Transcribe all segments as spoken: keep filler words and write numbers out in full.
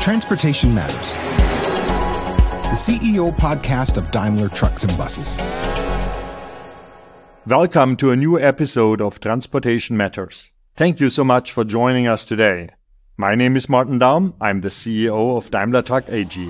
Transportation Matters, the C E O podcast of Daimler Trucks and Buses. Welcome to a new episode of Transportation Matters. Thank you so much for joining us today. My name is Martin Daum. I'm the C E O of Daimler Truck A G.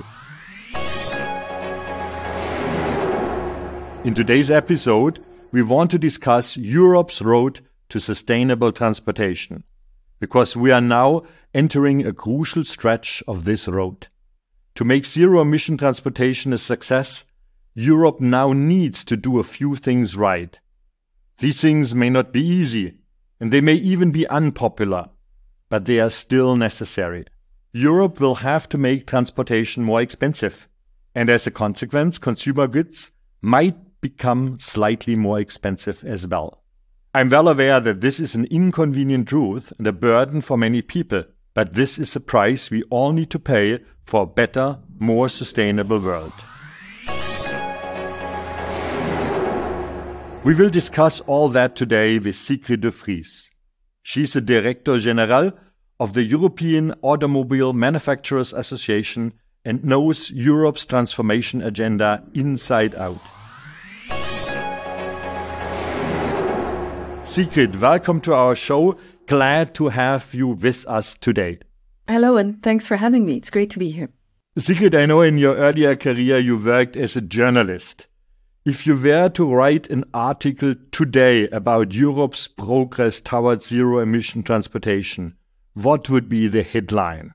In today's episode, we want to discuss Europe's road to sustainable transportation, because we are now entering a crucial stretch of this road. To make zero-emission transportation a success, Europe now needs to do a few things right. These things may not be easy, and they may even be unpopular, but they are still necessary. Europe will have to make transportation more expensive, and as a consequence, consumer goods might become slightly more expensive as well. I'm well aware that this is an inconvenient truth and a burden for many people, but this is a price we all need to pay for a better, more sustainable world. We will discuss all that today with Sigrid de Vries. She's the Director General of the European Automobile Manufacturers Association and knows Europe's transformation agenda inside out. Sigrid, welcome to our show. Glad to have you with us today. Hello, and thanks for having me. It's great to be here. Sigrid, I know in your earlier career you worked as a journalist. If you were to write an article today about Europe's progress towards zero-emission transportation, what would be the headline?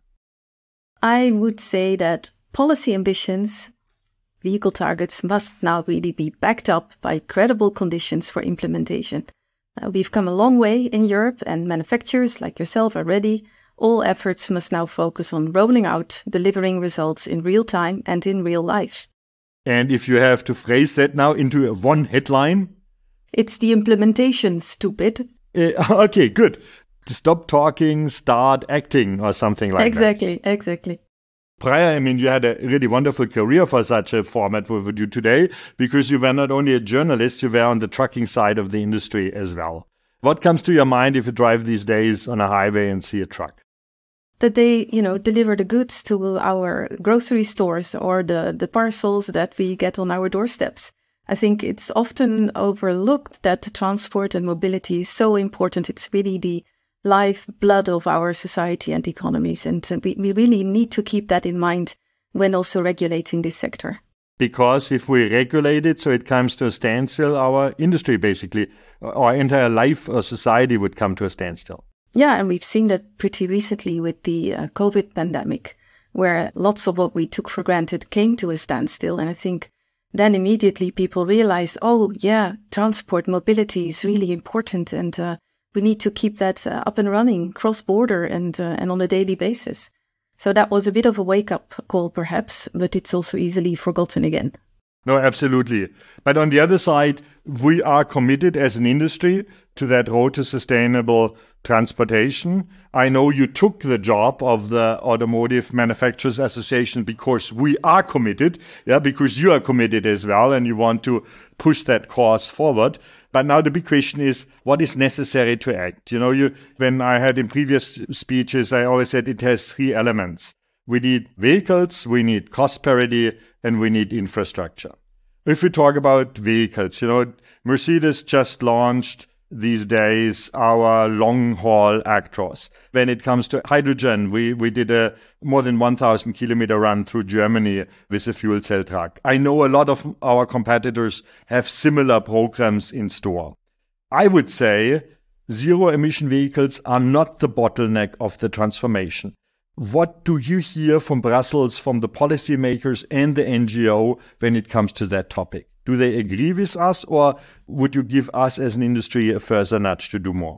I would say that policy ambitions, vehicle targets, must now really be backed up by credible conditions for implementation. Uh, we've come a long way in Europe, and manufacturers like yourself are ready. All efforts must now focus on rolling out, delivering results in real time and in real life. And if you have to phrase that now into one headline? It's the implementation, stupid. Uh, okay, good. To stop talking, start acting or something like exactly, that. Exactly, exactly. Prior, I mean, you had a really wonderful career for such a format we would do today, because you were not only a journalist, you were on the trucking side of the industry as well. What comes to your mind if you drive these days on a highway and see a truck? That they, you know, deliver the goods to our grocery stores or the, the parcels that we get on our doorsteps. I think it's often overlooked that transport and mobility is so important. It's really the lifeblood of our society and economies. And we, we really need to keep that in mind when also regulating this sector. Because if we regulate it so it comes to a standstill, our industry basically, our entire life or society would come to a standstill. Yeah, and we've seen that pretty recently with the uh, COVID pandemic, where lots of what we took for granted came to a standstill. And I think then immediately people realized, oh, yeah, transport, mobility is really important. And uh, we need to keep that uh, up and running cross-border and uh, and on a daily basis. So that was a bit of a wake-up call, perhaps, but it's also easily forgotten again. No, absolutely. But on the other side, we are committed as an industry to that road to sustainable transportation. I know you took the job of the Automotive Manufacturers Association because we are committed, yeah, because you are committed as well and you want to push that cause forward. But now the big question is, what is necessary to act? You know, you, when I had in previous speeches, I always said it has three elements. We need vehicles, we need cost parity, and we need infrastructure. If we talk about vehicles, you know, Mercedes just launched these days our long-haul Actros. When it comes to hydrogen, we, we did a more than one thousand kilometer run through Germany with a fuel cell truck. I know a lot of our competitors have similar programs in store. I would say zero-emission vehicles are not the bottleneck of the transformation. What do you hear from Brussels, from the policymakers and the N G O when it comes to that topic? Do they agree with us, or would you give us as an industry a further nudge to do more?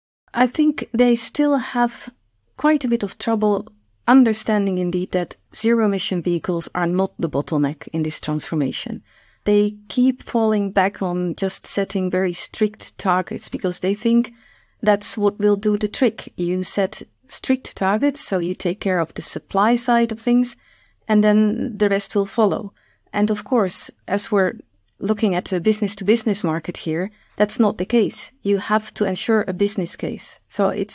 I think they still have quite a bit of trouble understanding indeed that zero-emission vehicles are not the bottleneck in this transformation. They keep falling back on just setting very strict targets because they think that's what will do the trick. You set strict targets, so you take care of the supply side of things, and then the rest will follow. And of course, as we're looking at a business-to-business market here, that's not the case. You have to ensure a business case. So it's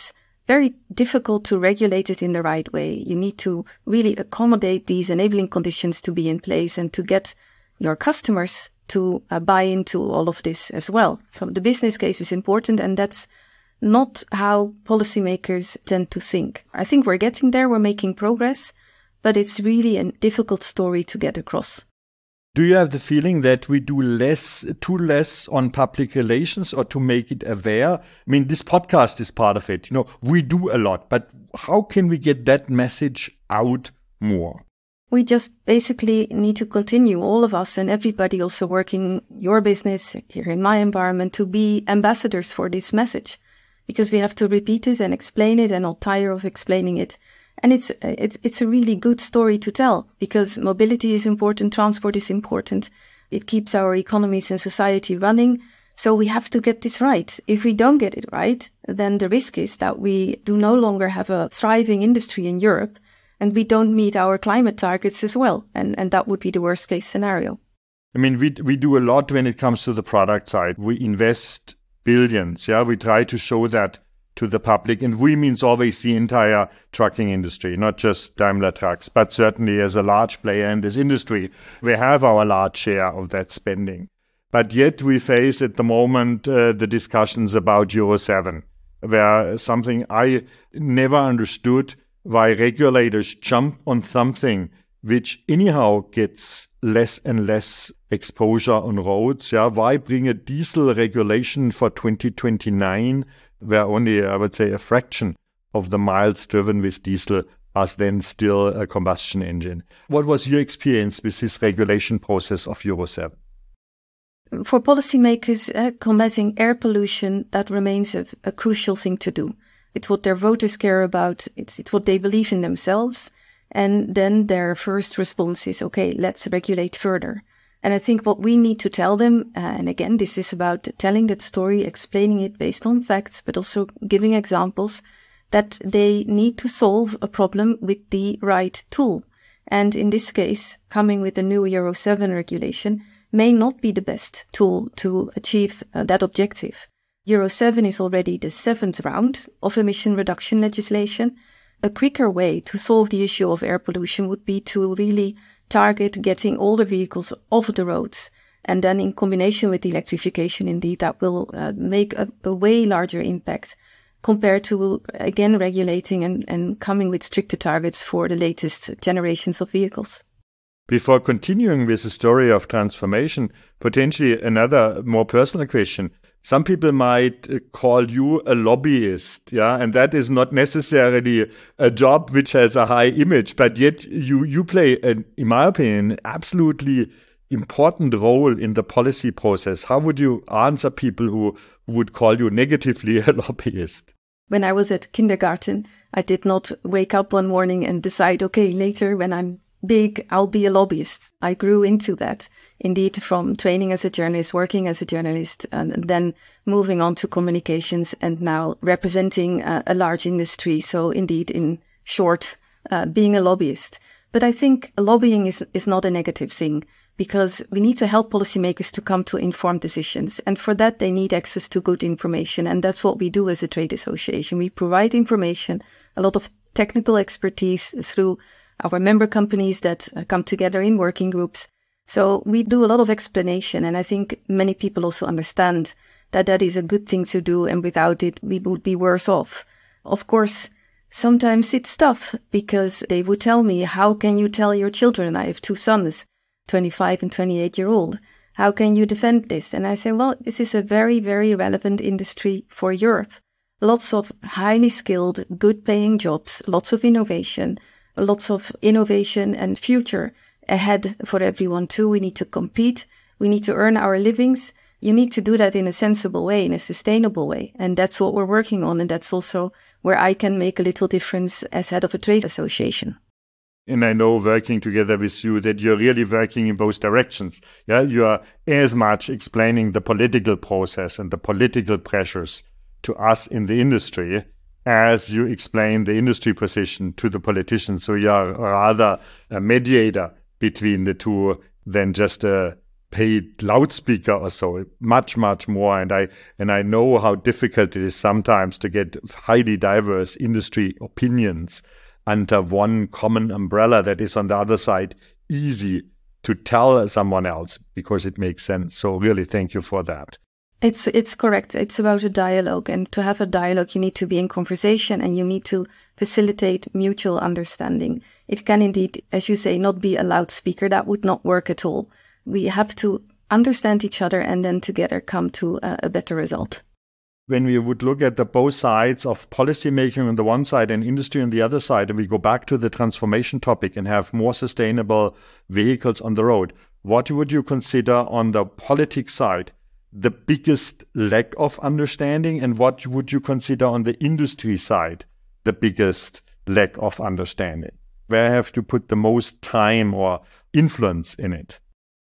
very difficult to regulate it in the right way. You need to really accommodate these enabling conditions to be in place and to get your customers to uh, buy into all of this as well. So the business case is important, and that's not how policymakers tend to think. I think we're getting there, we're making progress, but it's really a difficult story to get across. Do you have the feeling that we do less, too less on public relations or to make it aware? I mean, this podcast is part of it. You know, we do a lot, but how can we get that message out more? We just basically need to continue, all of us and everybody also working your business here in my environment, to be ambassadors for this message, because we have to repeat it and explain it and not tire of explaining it. And it's it's it's a really good story to tell, because mobility is important, transport is important. It keeps our economies and society running. So we have to get this right. If we don't get it right, then the risk is that we do no longer have a thriving industry in Europe, and we don't meet our climate targets as well. And, and that would be the worst case scenario. I mean, we we do a lot when it comes to the product side. We invest billions. Yeah, we try to show that to the public. And we means always the entire trucking industry, not just Daimler Trucks, but certainly as a large player in this industry, we have our large share of that spending. But yet we face at the moment uh, the discussions about Euro seven, where something I never understood, why regulators jump on something which anyhow gets less and less exposure on roads. Yeah, why bring a diesel regulation for twenty twenty-nine where only, I would say, a fraction of the miles driven with diesel are then still a combustion engine? What was your experience with this regulation process of Euro seven? For policymakers, uh, combating air pollution, that remains a, a crucial thing to do. It's what their voters care about. It's, it's what they believe in themselves. And then their first response is, okay, let's regulate further. And I think what we need to tell them, uh, and again, this is about telling that story, explaining it based on facts, but also giving examples, that they need to solve a problem with the right tool. And in this case, coming with a new Euro seven regulation may not be the best tool to achieve uh, that objective. Euro seven is already the seventh round of emission reduction legislation. A quicker way to solve the issue of air pollution would be to really target getting older vehicles off the roads. And then in combination with electrification, indeed, that will uh, make a, a way larger impact compared to, again, regulating and, and coming with stricter targets for the latest generations of vehicles. Before continuing with the story of transformation, potentially another more personal question. Some people might call you a lobbyist, yeah, and that is not necessarily a job which has a high image, but yet you, you play, an, in my opinion, an absolutely important role in the policy process. How would you answer people who would call you negatively a lobbyist? When I was at kindergarten, I did not wake up one morning and decide, okay, later when I'm big, I'll be a lobbyist. I grew into that, indeed, from training as a journalist, working as a journalist, and then moving on to communications and now representing uh, a large industry. So indeed, in short, uh, being a lobbyist. But I think lobbying is, is not a negative thing, because we need to help policymakers to come to informed decisions. And for that, they need access to good information. And that's what we do as a trade association. We provide information, a lot of technical expertise through our member companies that uh, come together in working groups. So we do a lot of explanation, and I think many people also understand that that is a good thing to do, and without it, we would be worse off. Of course, sometimes it's tough, because they would tell me, how can you tell your children? I have two sons, twenty-five and twenty-eight year old. How can you defend this? And I say, well, this is a very, very relevant industry for Europe. Lots of highly skilled, good paying jobs, lots of innovation, lots of innovation and future ahead for everyone too. We need to compete. We need to earn our livings. You need to do that in a sensible way, in a sustainable way. And that's what we're working on. And that's also where I can make a little difference as head of a trade association. And I know, working together with you, that you're really working in both directions. Yeah, you are as much explaining the political process and the political pressures to us in the industry as you explain the industry position to the politicians. So you are rather a mediator between the two than just a paid loudspeaker or so, much, much more. And I and I know how difficult it is sometimes to get highly diverse industry opinions under one common umbrella that is on the other side easy to tell someone else because it makes sense. So really, thank you for that. It's it's correct. It's about a dialogue. And to have a dialogue, you need to be in conversation and you need to facilitate mutual understanding. It can indeed, as you say, not be a loudspeaker. That would not work at all. We have to understand each other and then together come to a, a better result. When we would look at the both sides of policymaking on the one side and industry on the other side, and we go back to the transformation topic and have more sustainable vehicles on the road, what would you consider on the politics side the biggest lack of understanding, and what would you consider on the industry side the biggest lack of understanding? Where have to put the most time or influence in it?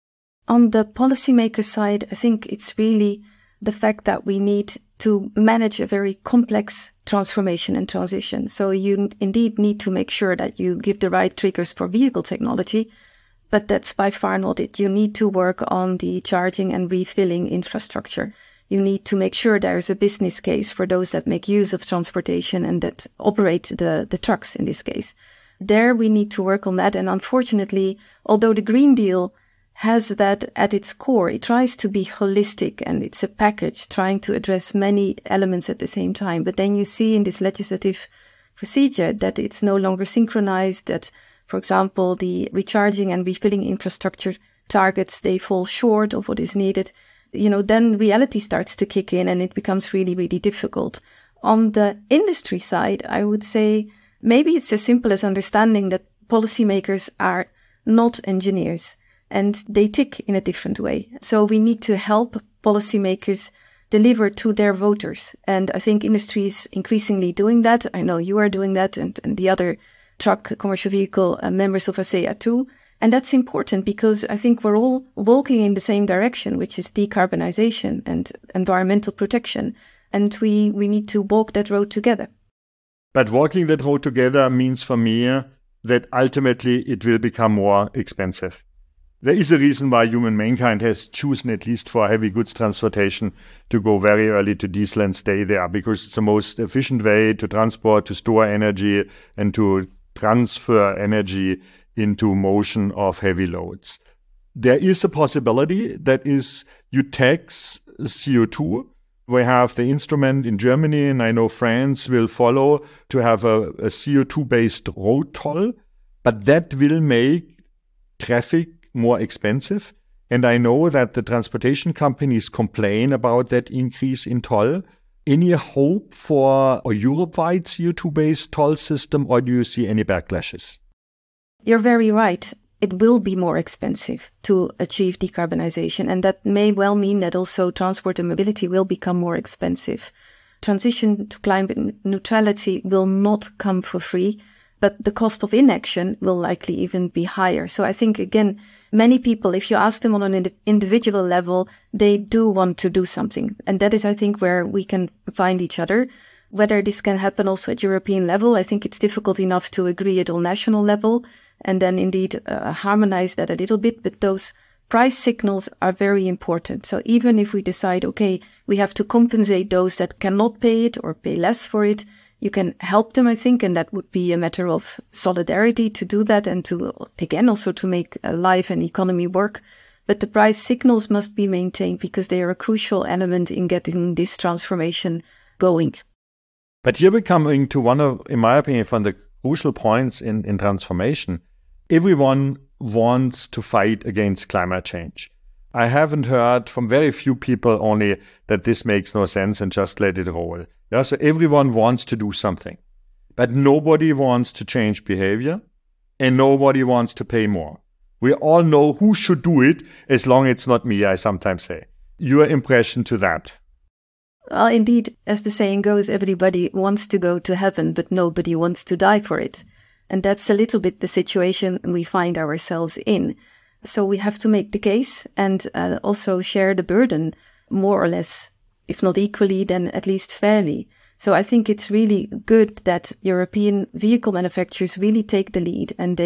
On the policymaker side, I think it's really the fact that we need to manage a very complex transformation and transition. So you indeed need to make sure that you give the right triggers for vehicle technology, but that's by far not it. You need to work on the charging and refilling infrastructure. You need to make sure there's a business case for those that make use of transportation and that operate the, the trucks in this case. There we need to work on that. And unfortunately, although the Green Deal has that at its core, it tries to be holistic and it's a package trying to address many elements at the same time. But then you see in this legislative procedure that it's no longer synchronized, that, for example, the recharging and refilling infrastructure targets, they fall short of what is needed. You know, then reality starts to kick in and it becomes really, really difficult. On the industry side, I would say maybe it's as simple as understanding that policymakers are not engineers and they tick in a different way. So we need to help policymakers deliver to their voters. And I think industry is increasingly doing that. I know you are doing that and, and the other truck commercial vehicle uh, members of ACEA too. And that's important because I think we're all walking in the same direction, which is decarbonization and environmental protection. And we, we need to walk that road together. But walking that road together means for me that ultimately it will become more expensive. There is a reason why human mankind has chosen, at least for heavy goods transportation, to go very early to diesel and stay there, because it's the most efficient way to transport, to store energy, and to transfer energy into motion of heavy loads. There is a possibility that is you tax C O two. We have the instrument in Germany, and I know France will follow, to have a, a C O two-based road toll, but that will make traffic more expensive. And I know that the transportation companies complain about that increase in toll. Any hope for a Europe-wide C O two-based toll system, or do you see any backlashes? You're very right. It will be more expensive to achieve decarbonization, and that may well mean that also transport and mobility will become more expensive. Transition to climate neutrality will not come for free, but the cost of inaction will likely even be higher. So I think, again, many people, if you ask them on an ind- individual level, they do want to do something. And that is, I think, where we can find each other. Whether this can happen also at European level, I think it's difficult enough to agree at all national level and then indeed uh, harmonize that a little bit. But those price signals are very important. So even if we decide, okay, we have to compensate those that cannot pay it or pay less for it, you can help them, I think, and that would be a matter of solidarity to do that and to, again, also to make life and economy work. But the price signals must be maintained because they are a crucial element in getting this transformation going. But here we're coming to one of, in my opinion, from the crucial points in, in transformation. Everyone wants to fight against climate change. I haven't heard from very few people only that this makes no sense and just let it roll. Yeah, so everyone wants to do something, but nobody wants to change behavior and nobody wants to pay more. We all know who should do it, as long as it's not me, I sometimes say. Your impression to that? Well, indeed, as the saying goes, everybody wants to go to heaven, but nobody wants to die for it. And that's a little bit the situation we find ourselves in. So we have to make the case and uh, also share the burden more or less, if not equally, then at least fairly. So I think it's really good that European vehicle manufacturers really take the lead and they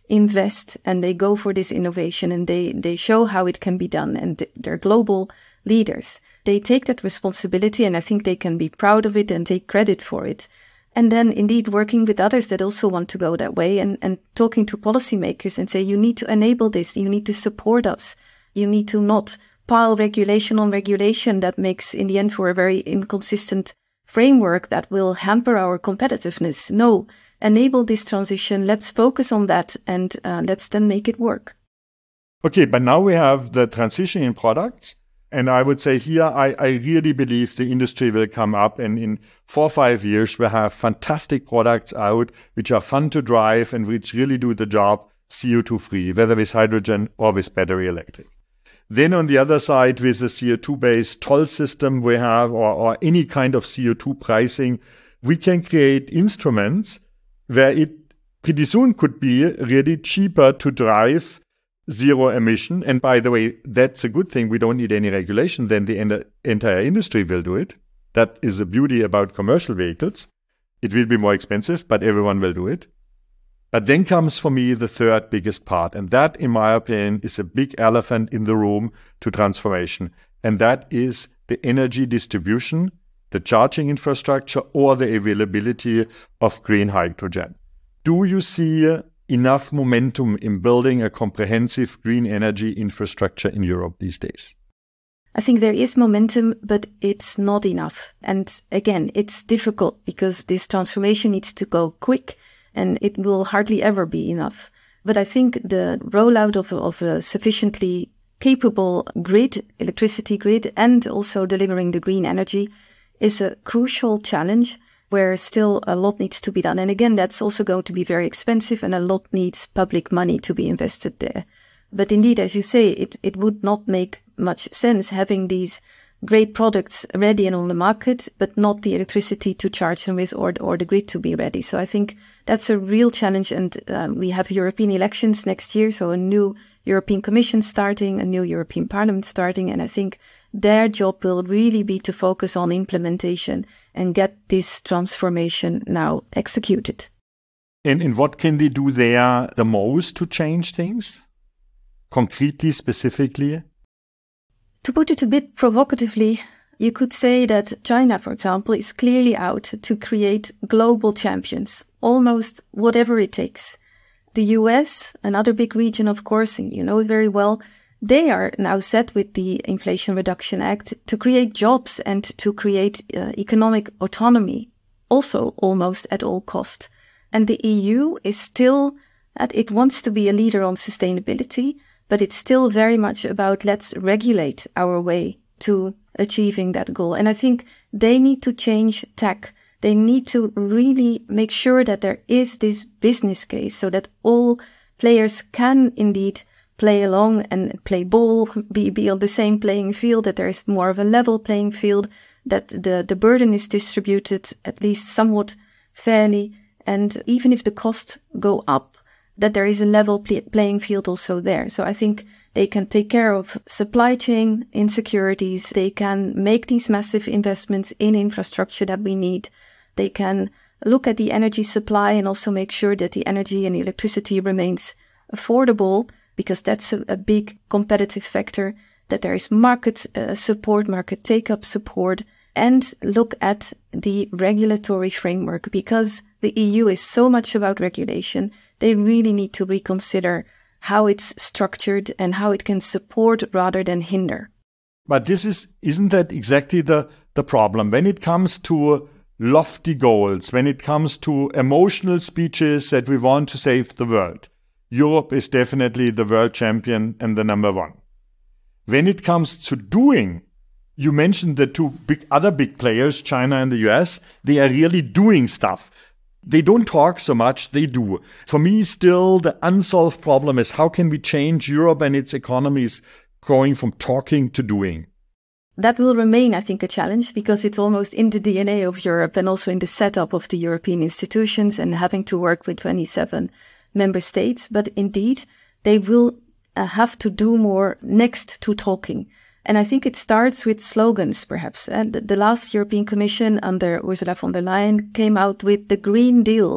invest and they go for this innovation and they, they show how it can be done, and they're global leaders. They take that responsibility, and I think they can be proud of it and take credit for it. And then indeed working with others that also want to go that way, and, and talking to policymakers and say, you need to enable this, you need to support us, you need to not pile regulation on regulation that makes in the end for a very inconsistent framework that will hamper our competitiveness. No, enable this transition, let's focus on that, and uh, let's then make it work. Okay, but now we have the transition in products. And I would say here, I, I really believe the industry will come up, and in four or five years, we'll have fantastic products out, which are fun to drive and which really do the job C O two free, whether with hydrogen or with battery electric. Then on the other side, with a C O two based toll system we have, or, or any kind of C O two pricing, we can create instruments where it pretty soon could be really cheaper to drive zero emission. And by the way, that's a good thing. We don't need any regulation. Then the en- entire industry will do it. That is the beauty about commercial vehicles. It will be more expensive, but everyone will do it. But then comes for me the third biggest part. And that, in my opinion, is a big elephant in the room to transformation. And that is the energy distribution, the charging infrastructure, or the availability of green hydrogen. Do you see enough momentum in building a comprehensive green energy infrastructure in Europe these days? I think there is momentum, but it's not enough. And again, it's difficult because this transformation needs to go quick, and it will hardly ever be enough. But I think the rollout of, of a sufficiently capable grid, electricity grid, and also delivering the green energy is a crucial challenge where still a lot needs to be done. And again, that's also going to be very expensive, and a lot needs public money to be invested there. But indeed, as you say, it, it would not make much sense having these great products ready and on the market, but not the electricity to charge them with, or, or the grid to be ready. So I think that's a real challenge. And um, we have European elections next year, so a new European Commission starting, a new European Parliament starting. And I think their job will really be to focus on implementation and get this transformation now executed. And, and what can they do there the most to change things? Concretely, specifically? To put it a bit provocatively, you could say that China, for example, is clearly out to create global champions, almost whatever it takes. The U S, another big region, of course, and you know it very well, they are now set with the Inflation Reduction Act to create jobs and to create uh, economic autonomy, also almost at all cost. And the E U is still, at, it wants to be a leader on sustainability, but it's still very much about let's regulate our way to achieving that goal. And I think they need to change tack. They need to really make sure that there is this business case so that all players can indeed play along and play ball, be, be on the same playing field, that there is more of a level playing field, that the, the burden is distributed at least somewhat fairly. And even if the costs go up, that there is a level play, playing field also there. So I think they can take care of supply chain insecurities. They can make these massive investments in infrastructure that we need. They can look at the energy supply and also make sure that the energy and the electricity remains affordable, because that's a, a big competitive factor, that there is market uh, support, market take-up support, and look at the regulatory framework, because the E U is so much about regulation. They really need to reconsider how it's structured and how it can support rather than hinder. But this is, isn't that exactly the, the problem? When it comes to lofty goals, when it comes to emotional speeches that we want to save the world, Europe is definitely the world champion and the number one. When it comes to doing, you mentioned the two big other big players, China and the U S, they are really doing stuff. They don't talk so much, they do. For me, still, the unsolved problem is how can we change Europe and its economies going from talking to doing? That will remain, I think, a challenge, because it's almost in the D N A of Europe and also in the setup of the European institutions and having to work with twenty-seven member states. But indeed, they will uh, have to do more next to talking. And I think it starts with slogans, perhaps. And the last European Commission under Ursula von der Leyen came out with the Green Deal.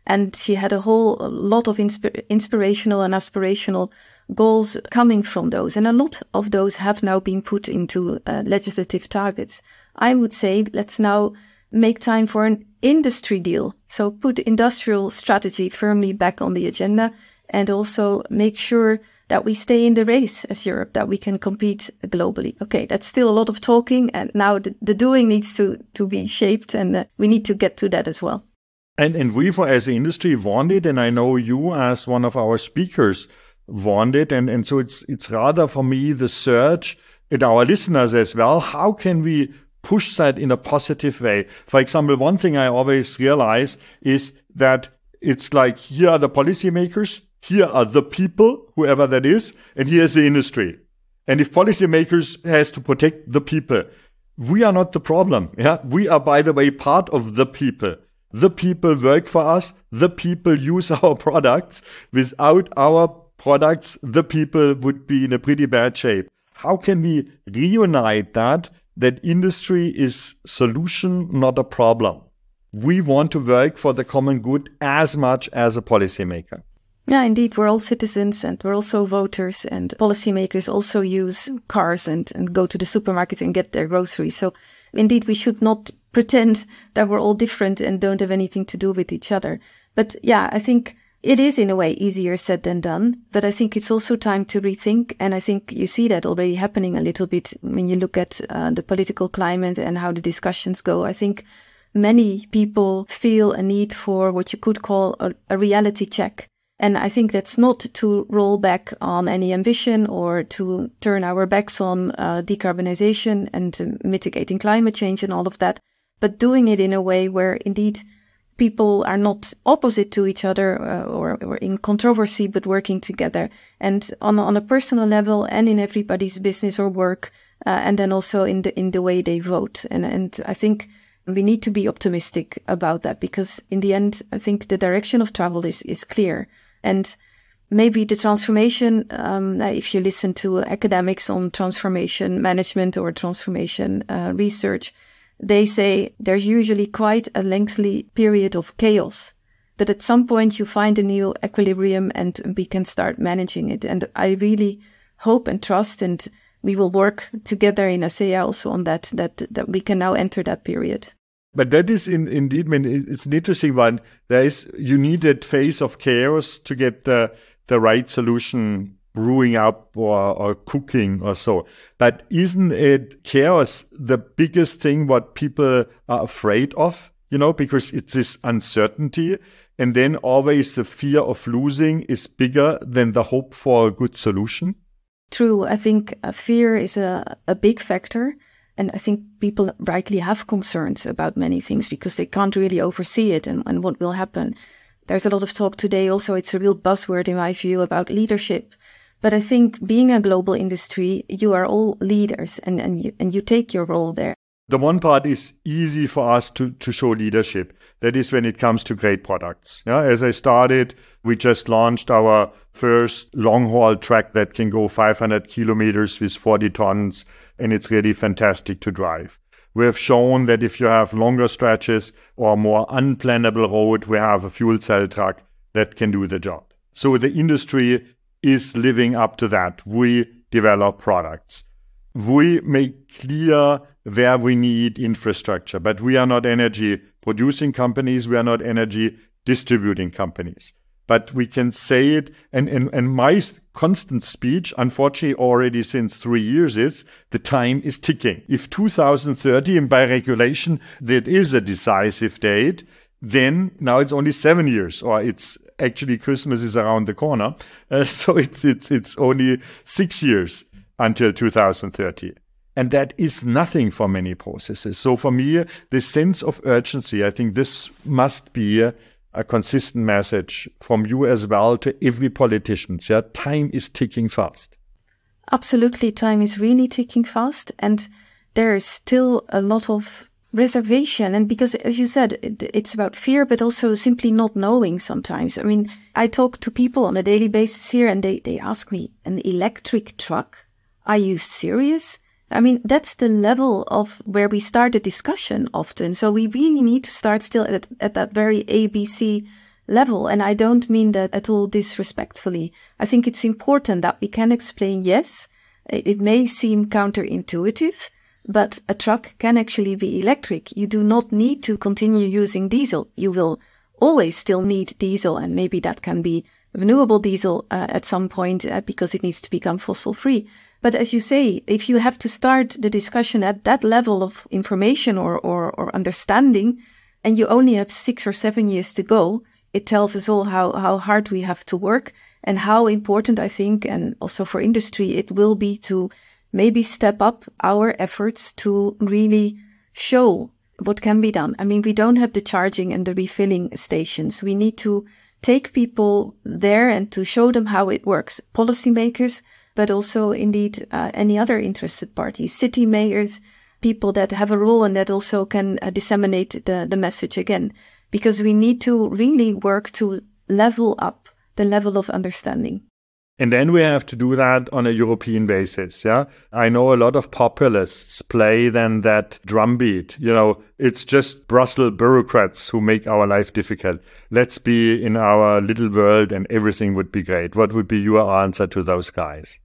And she had a whole a lot of insp- inspirational and aspirational goals coming from those. And a lot of those have now been put into uh, legislative targets. I would say let's now make time for an industry deal. So put industrial strategy firmly back on the agenda and also make sure that we stay in the race as Europe, that we can compete globally. Okay, that's still a lot of talking, and now the, the doing needs to, to be shaped, and uh, we need to get to that as well. And, and we, for, as an industry, want it, and I know you, as one of our speakers, want it, and, and so it's it's rather, for me, the search, and our listeners as well, how can we push that in a positive way? For example, one thing I always realize is that it's like, here are the policymakers, here are the people, whoever that is, and here's the industry. And if policymakers has to protect the people, we are not the problem. Yeah, we are, by the way, part of the people. The people work for us. The people use our products. Without our products, the people would be in a pretty bad shape. How can we reunite that, that industry is solution, not a problem? We want to work for the common good as much as a policymaker. Yeah, indeed, we're all citizens and we're also voters, and policymakers also use cars and, and go to the supermarket and get their groceries. So indeed, we should not pretend that we're all different and don't have anything to do with each other. But yeah, I think it is in a way easier said than done, but I think it's also time to rethink. And I think you see that already happening a little bit when you look at uh, the political climate and how the discussions go. I think many people feel a need for what you could call a, a reality check. And I think that's not to roll back on any ambition or to turn our backs on uh, decarbonization and uh, mitigating climate change and all of that, but doing it in a way where indeed people are not opposite to each other uh, or, or in controversy, but working together and on, on a personal level and in everybody's business or work, uh, and then also in the in the way they vote. And, and I think we need to be optimistic about that, because in the end, I think the direction of travel is, is clear. And maybe the transformation, um, if you listen to academics on transformation management or transformation uh, research, they say there's usually quite a lengthy period of chaos. But at some point you find a new equilibrium and we can start managing it. And I really hope and trust, and we will work together in ASEA also on that, that, that we can now enter that period. But that is in, indeed, I mean, it's an interesting one. There is, you need that phase of chaos to get the, the right solution brewing up or, or cooking or so. But isn't it chaos the biggest thing what people are afraid of? You know, because it's this uncertainty, and then always the fear of losing is bigger than the hope for a good solution. True. I think uh, fear is a, a big factor. And I think people rightly have concerns about many things because they can't really oversee it and, and what will happen. There's a lot of talk today also, it's a real buzzword in my view, about leadership. But I think being a global industry, you are all leaders and, and, you, and you take your role there. The one part is easy for us to, to show leadership. That is when it comes to great products. Yeah, as I started, we just launched our first long-haul track that can go five hundred kilometers with forty tons, and it's really fantastic to drive. We have shown that if you have longer stretches or more unplannable road, we have a fuel cell truck that can do the job. So the industry is living up to that. We develop products. We make clear where we need infrastructure, but we are not energy producing companies. We are not energy distributing companies. But we can say it, and, and, and my constant speech, unfortunately already since three years, is the time is ticking. If two thousand thirty, and by regulation, that is a decisive date, then now it's only seven years, or it's actually Christmas is around the corner. Uh, so it's, it's, it's only six years until two thousand thirty. And that is nothing for many processes. So for me, the sense of urgency, I think this must be a, a consistent message from you as well to every politician. Yeah, time is ticking fast. Absolutely, time is really ticking fast. And there is still a lot of reservation. And because, as you said, it, it's about fear, but also simply not knowing sometimes. I mean, I talk to people on a daily basis here and they, they ask me, an electric truck? Are you serious? I mean, that's the level of where we start the discussion often. So we really need to start still at, at that very A B C level. And I don't mean that at all disrespectfully. I think it's important that we can explain, yes, it may seem counterintuitive, but a truck can actually be electric. You do not need to continue using diesel. You will always still need diesel, and maybe that can be renewable diesel uh, at some point uh, because it needs to become fossil free. But as you say, if you have to start the discussion at that level of information or, or, or understanding, and you only have six or seven years to go, it tells us all how, how hard we have to work and how important, I think, and also for industry, it will be to maybe step up our efforts to really show what can be done. I mean, we don't have the charging and the refilling stations. We need to take people there and to show them how it works. Policymakers, but also indeed uh, any other interested parties, city mayors, people that have a role and that also can uh, disseminate the, the message again. Because we need to really work to level up the level of understanding. And then we have to do that on a European basis, yeah? I know a lot of populists play then that drumbeat. You know, it's just Brussels bureaucrats who make our life difficult. Let's be in our little world and everything would be great. What would be your answer to those guys?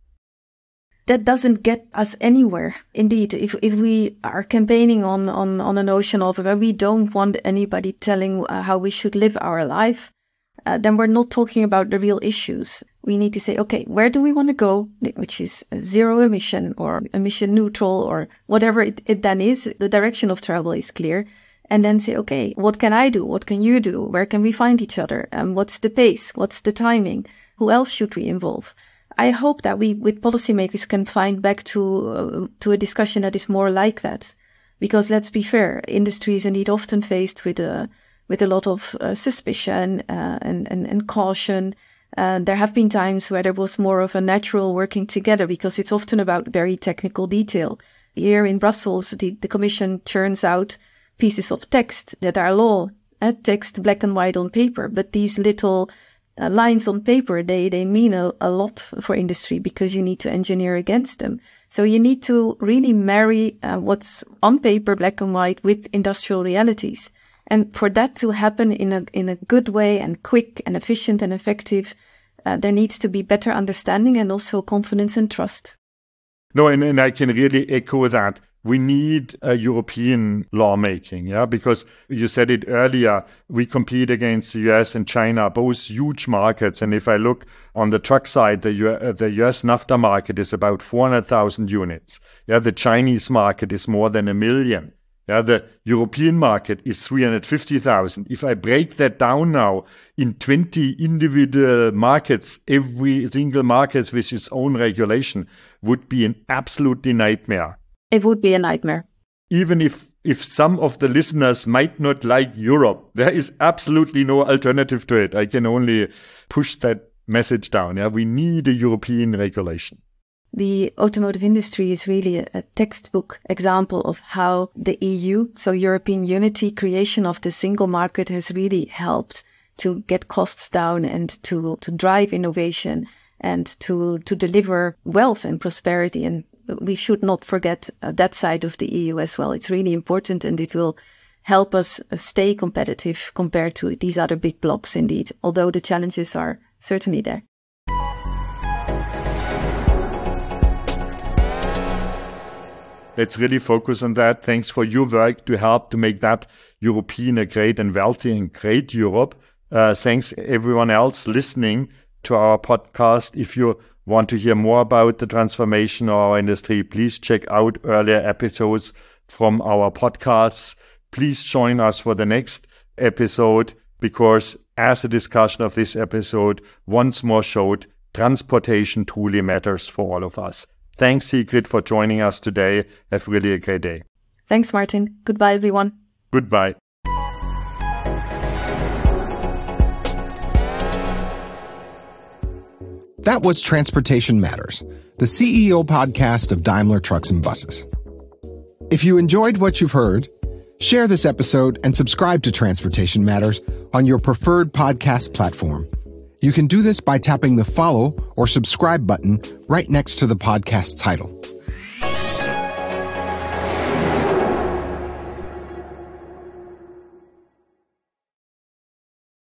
That doesn't get us anywhere. Indeed, if if we are campaigning on, on, on a notion of where we don't want anybody telling uh, how we should live our life, uh, then we're not talking about the real issues. We need to say, okay, where do we want to go, which is zero emission or emission neutral or whatever it, it then is. The direction of travel is clear. And then say, okay, what can I do? What can you do? Where can we find each other? And what's the pace? What's the timing? Who else should we involve? I hope that we, with policymakers, can find back to uh, to a discussion that is more like that. Because let's be fair, industry is indeed often faced with a, with a lot of uh, suspicion uh, and, and, and caution. Uh, there have been times where there was more of a natural working together because it's often about very technical detail. Here in Brussels, the, the Commission churns out pieces of text that are law, uh, text black and white on paper, but these little Uh, lines on paper, they, they mean a, a lot for industry because you need to engineer against them. So you need to really marry uh, what's on paper, black and white, with industrial realities. And for that to happen in a in a good way and quick and efficient and effective, uh, there needs to be better understanding and also confidence and trust. No, and, and I can really echo that. We need a European lawmaking, yeah, because you said it earlier, we compete against the U S and China, both huge markets. And if I look on the truck side, the, U- uh, the U S NAFTA market is about four hundred thousand units. Yeah, the Chinese market is more than a million. Yeah, the European market is three hundred fifty thousand. If I break that down now in twenty individual markets, every single market with its own regulation would be an absolutely nightmare. It would be a nightmare. Even if, if some of the listeners might not like Europe, there is absolutely no alternative to it. I can only push that message down. Yeah, we need a European regulation. The automotive industry is really a, a textbook example of how the E U, so European unity, creation of the single market, has really helped to get costs down and to, to drive innovation and to, to deliver wealth and prosperity. And we should not forget uh, that side of the E U as well. It's really important, and it will help us uh, stay competitive compared to these other big blocs indeed, although the challenges are certainly there. Let's really focus on that. Thanks for your work to help to make that European a great and wealthy and great Europe. Uh, thanks everyone else listening to our podcast. If you want to hear more about the transformation of our industry, please check out earlier episodes from our podcasts. Please join us for the next episode, because as a discussion of this episode once more showed, transportation truly matters for all of us. Thanks, Sigrid, for joining us today. Have really a great day. Thanks, Martin. Goodbye, everyone. Goodbye. That was Transportation Matters, the C E O podcast of Daimler Trucks and Buses. If you enjoyed what you've heard, share this episode and subscribe to Transportation Matters on your preferred podcast platform. You can do this by tapping the follow or subscribe button right next to the podcast title.